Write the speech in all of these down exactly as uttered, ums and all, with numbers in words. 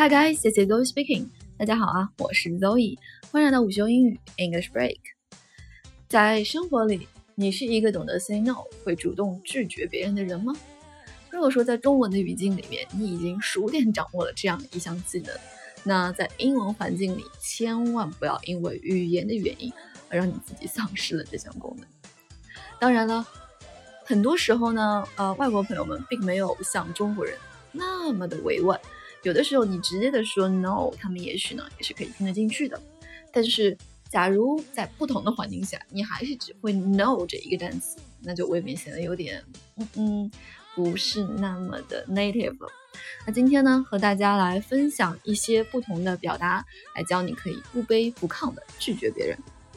Hi guys, this is Zoe speaking. 大家好啊，我是 Zoe， 欢迎来到午休英语 English Break。在生活里，你是一个懂得 say no， 会主动拒绝别人的人吗？如果说在中文的语境里面，你已经熟练掌握了这样一项技能，那在英文环境里，千万不要因为语言的原因而让你自己丧失了这项功能。当然了，很多时候呢，呃，外国朋友们并没有像中国人那么的委婉，有的时候你直接的说 no， 他们也许呢也是可以听得进去的。但是假如在不同的环境下，你还是只会 no 这一个单词，那就未免显得有点嗯嗯不是那么的 native 了。那今天呢，和大家来分享一些不同的表达，来教你可以不卑不亢的拒绝别人。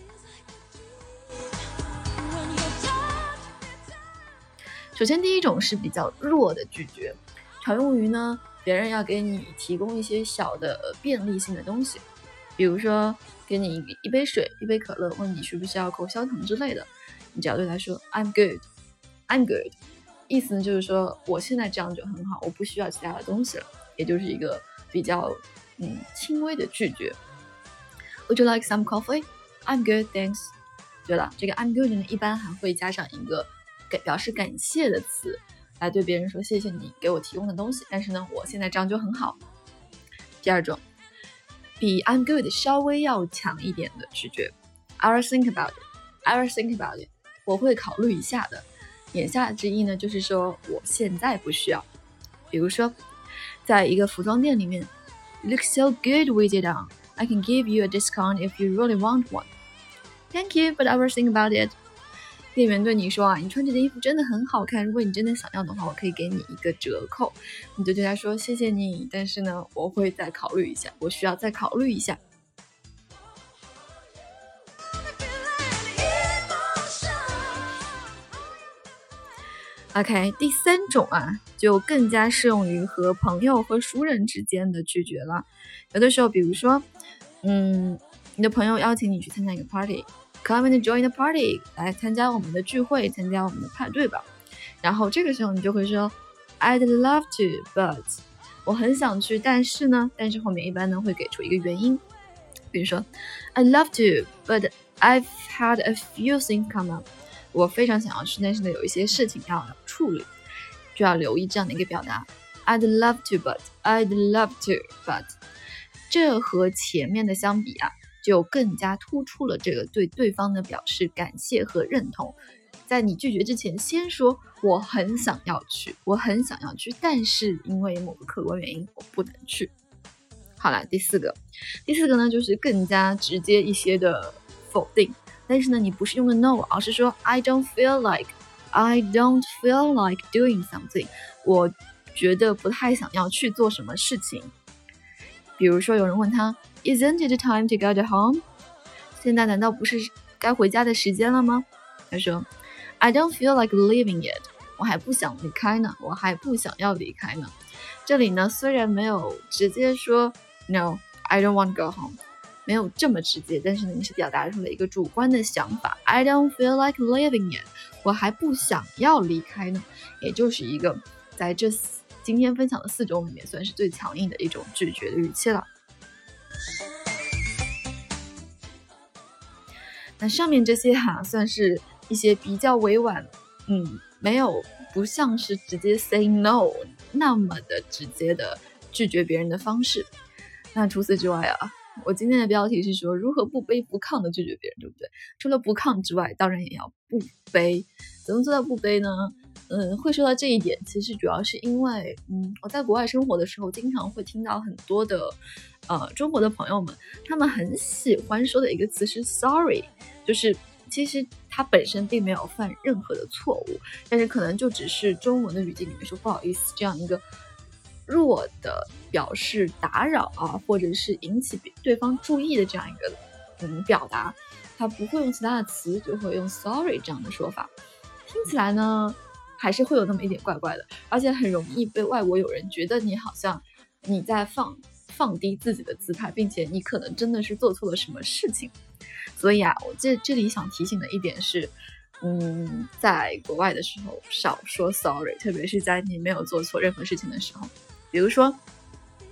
首先第一种是比较弱的拒绝，常用于呢别人要给你提供一些小的便利性的东西，比如说给你一杯水一杯可乐，问你需不需要口香糖之类的，你只要对他说 I'm good I'm good， 意思呢就是说我现在这样就很好，我不需要其他的东西了，也就是一个比较嗯轻微的拒绝。 Would you like some coffee? I'm good, thanks。 对了，这个 I'm good 呢一般还会加上一个表示感谢的词，来对别人说谢谢你给我提供的东西，但是呢我现在这样就很好。第二种比 I'm good 稍微要强一点的拒绝， I'll think about it I'll think about it， 我会考虑一下的，言下之意呢就是说我现在不需要。比如说在一个服装店里面， You look so good with it on, I can give you a discount if you really want one. Thank you, but I will think about it。店员对你说啊，你穿这件衣服真的很好看，如果你真的想要的话，我可以给你一个折扣。你就对他说谢谢你，但是呢我会再考虑一下，我需要再考虑一下。OK， 第三种啊就更加适用于和朋友和熟人之间的拒绝了。有的时候比如说嗯，你的朋友邀请你去参加一个 party，Come and join the party， 来参加我们的聚会，参加我们的派对吧。然后这个时候你就会说 I'd love to, but 我很想去，但是呢，但是后面一般呢会给出一个原因，比如说 I'd love to, but I've had a few things come up。 我非常想要去，但是呢有一些事情要处理，就要留意这样的一个表达 I'd love to, but I'd love to, but 这和前面的相比啊就更加突出了这个对对方的表示感谢和认同。在你拒绝之前先说我很想要去，我很想要去，但是因为某个客观原因我不能去。好了，第四个第四个呢就是更加直接一些的否定，但是呢你不是用的 no， 而是说 I don't feel like I don't feel like doing something， 我觉得不太想要去做什么事情。比如说有人问他Isn't it time to go to home? 现在难道不是该回家的时间了吗？他说 I don't feel like leaving yet， 我还不想离开呢，我还不想要离开呢。这里呢虽然没有直接说 No, I don't want to go home， 没有这么直接，但是呢你是表达出了一个主观的想法， I don't feel like leaving yet， 我还不想要离开呢，也就是一个在这今天分享的四种里面算是最强硬的一种拒绝的语气了。那上面这些哈、啊、算是一些比较委婉，嗯，没有不像是直接 say no 那么的直接的拒绝别人的方式。那除此之外啊，我今天的标题是说如何不卑不亢的拒绝别人，对不对？除了不亢之外，当然也要不卑。怎么做到不卑呢？嗯，会说到这一点，其实主要是因为，嗯，我在国外生活的时候，经常会听到很多的，呃，中国的朋友们，他们很喜欢说的一个词是 sorry， 就是其实他本身并没有犯任何的错误，但是可能就只是中文的语境里面说不好意思这样一个弱的表示打扰啊，或者是引起对方注意的这样一个嗯表达，他不会用其他的词，就会用 sorry 这样的说法，听起来呢还是会有那么一点怪怪的，而且很容易被外国友人觉得你好像你在放放低自己的姿态，并且你可能真的是做错了什么事情。所以啊，我这这里想提醒的一点是，嗯，在国外的时候少说 sorry， 特别是在你没有做错任何事情的时候。比如说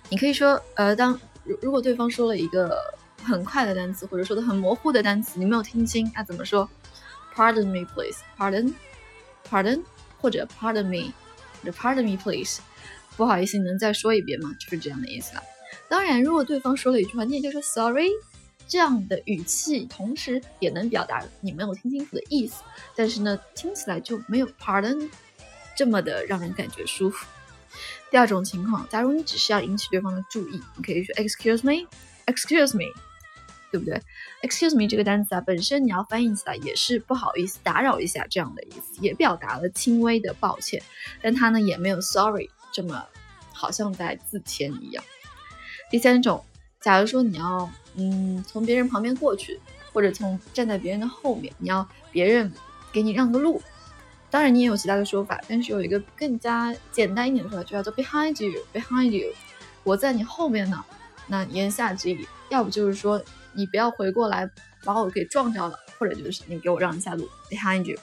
你可以说，呃，当如果对方说了一个很快的单词，或者说的很模糊的单词，你没有听清，那怎么说 ？Pardon me, please. Pardon, pardon, 或者 Pardon me, 或者 Pardon me, please. 不好意思，你能再说一遍吗？就是这样的意思了。当然，如果对方说了一句话，你也就说 Sorry， 这样的语气，同时也能表达你没有听清楚的意思，但是呢，听起来就没有 Pardon这么的让人感觉舒服。第二种情况，假如你只是要引起对方的注意，你可以说 Excuse me, Excuse me， 对不对 ？Excuse me 这个单词啊，本身你要翻译起来也是不好意思，打扰一下这样的意思，也表达了轻微的抱歉，但它呢也没有 Sorry 这么好像在自谦一样。第三种，假如说你要嗯从别人旁边过去，或者从站在别人的后面，你要别人给你让个路。当然你也有其他的说法，但是有一个更加简单一点的说法，就叫做 behind you, behind you， 我在你后面呢。那言下之意，要不就是说你不要回过来把我给撞着了，或者就是你给我让一下路 behind you。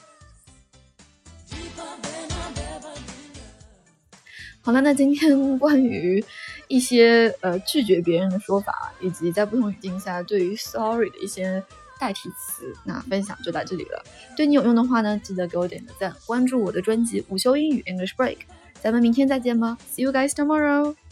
好了，那今天关于一些呃拒绝别人的说法，以及在不同语境下对于 sorry 的一些代替词，那分享就到这里了。对你有用的话呢，记得给我点个赞，关注我的专辑午休英语 English Break。咱们明天再见吧 ，See you guys tomorrow。